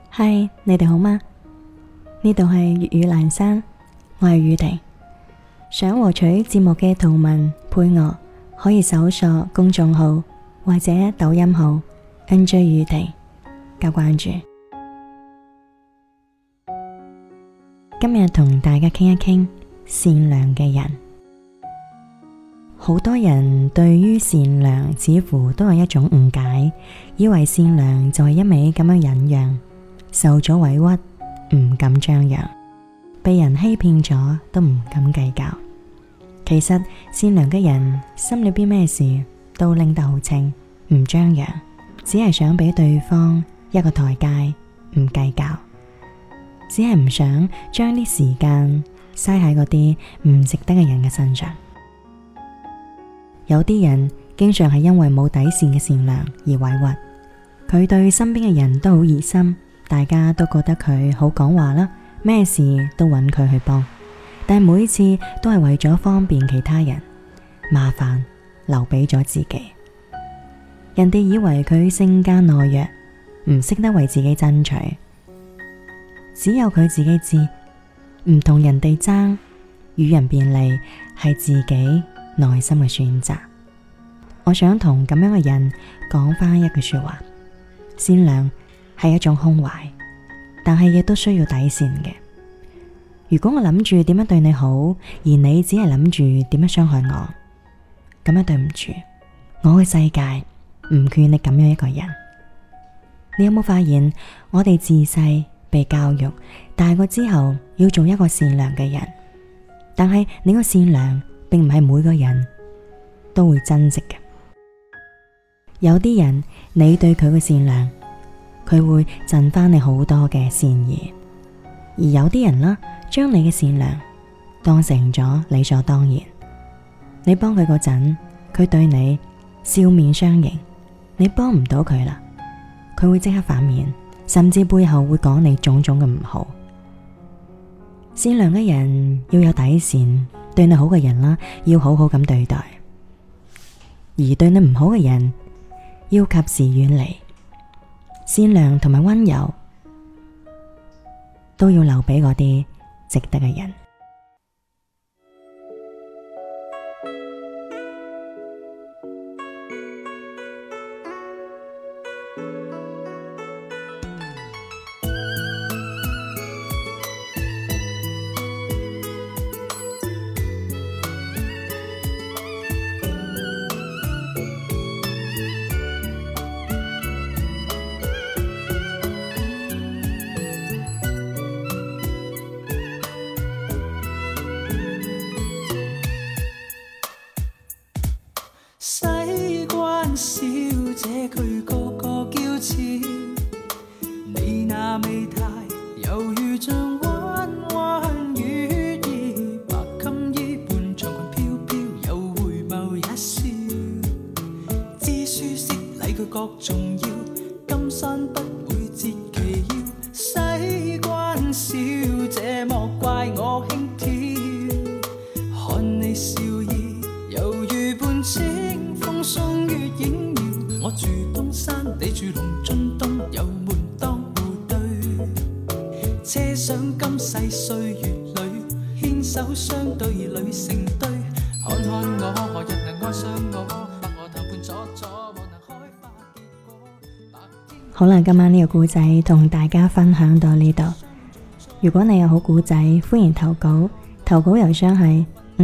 嗨，你哋好嗎？呢度係粵語闌珊，我係宇婷。想獲取節目嘅圖文配樂，可以搜索公眾號或者抖音號 NJ 宇婷加關注。今日同大家傾一傾善良嘅人。好多人對於善良似乎都有一種誤解，以為善良就係一味咁樣忍讓，受咗委屈唔敢張揚，被人欺騙咗都唔敢計較。其實善良嘅人心裏邊咩事都拎得好清，唔張揚，只係想俾對方一個台階，唔計較，只係唔想將啲時間嘥喺嗰啲唔值得嘅人嘅身上。有啲人經常係因為冇底線嘅善良而委屈，佢對身邊嘅人都好熱心，大家都覺得佢好講話啦，咩事都揾佢去幫，但每次都係為咗方便其他人，麻煩留俾咗自己。人哋以為佢性格懦弱，唔識得為自己爭取，只有佢自己知，唔同人哋爭，與人便利係自己內心嘅選擇。我想同咁樣嘅人講返一句說話：善良係一種胸懷，但係亦都需要底線嘅。如果我諗住點樣對你好，而你只係諗住點樣傷害我，咁樣對唔住，我嘅世界唔缺你咁樣一個人。你有冇發現，我哋自細被教育，大個之後要做一個善良嘅人，但係你個善良並唔係每個人都會珍惜嘅。有啲人，你對佢嘅善良，佢會贈翻你好多嘅善意；而有啲人啦，將你嘅善良當成咗理所當然。你幫佢嗰陣，佢對你笑面相迎；你幫唔到佢啦，佢會即刻反面，甚至背後會講你種種嘅唔好。善良嘅人要有底線，對你好嘅人啦，要好好咁對待；而對你唔好嘅人，要及時遠離。善良同埋溫柔都要留俾嗰啲值得嘅人。 西關小姐佢個個嬌俏，你那美態猶如像彎彎月兒，白衾衣般長裙飄飄，有回眸一笑，知書識禮佢各重要，金山不會折其腰。西關小姐莫怪我輕佻，看你笑意猶如半清風送月影搖，我住東山，你住龍津東，有門當戶對，車廂今世歲月裏，牽手相對侶成對，看看我何日能愛上我，百何談判阻阻，莫能開花結果。 好啦，今晚呢個故仔同大家分享到呢度。如果你有好故仔，歡迎投稿，投稿郵箱係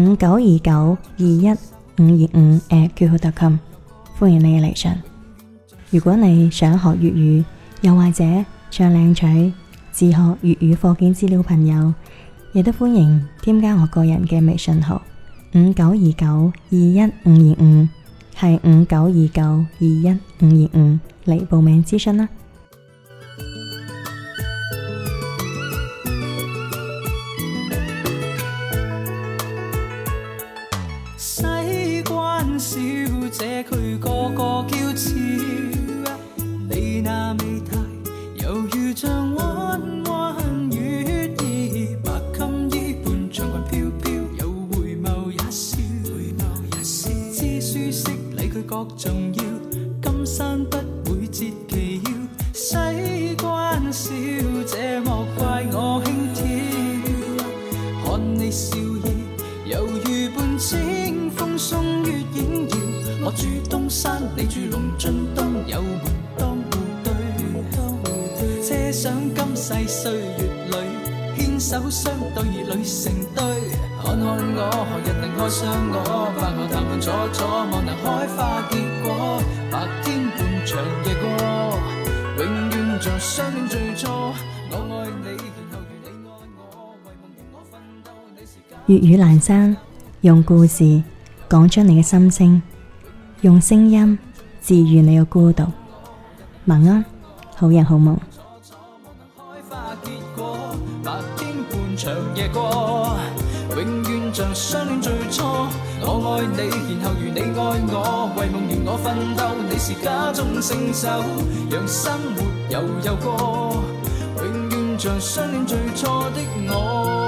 5929215225@qq.com，歡迎你嘅嚟信。如果你想學粵語，又或者想領取自學粵語課件資料，朋友亦都歡迎添加我個人嘅微信號5929215225，係5929215225嚟報名諮詢啦。 西關小姐佢個個嬌俏，你那美態猶如像彎彎月兒，白衾衣般長裙飄飄，有回眸一笑，知書識禮佢各重要，金山不會折其腰。 想今世歲月裏牽手相對侶成對，看看我何日能愛上我，飯後談判楚楚，望能開花結果，白天半長夜過，永遠像相戀最初，我愛你然後如你愛我，為夢如我奮鬥，你是假。 粵語闌珊，用故事講出你嘅心聲，用聲音治愈你嘅孤獨。晚安，好人好夢。 白天半長夜過，永遠像相戀最初。我愛你，然後如你愛我，為夢如我奮鬥。你是家中聖手，讓生活悠悠過，永遠像相戀最初的我。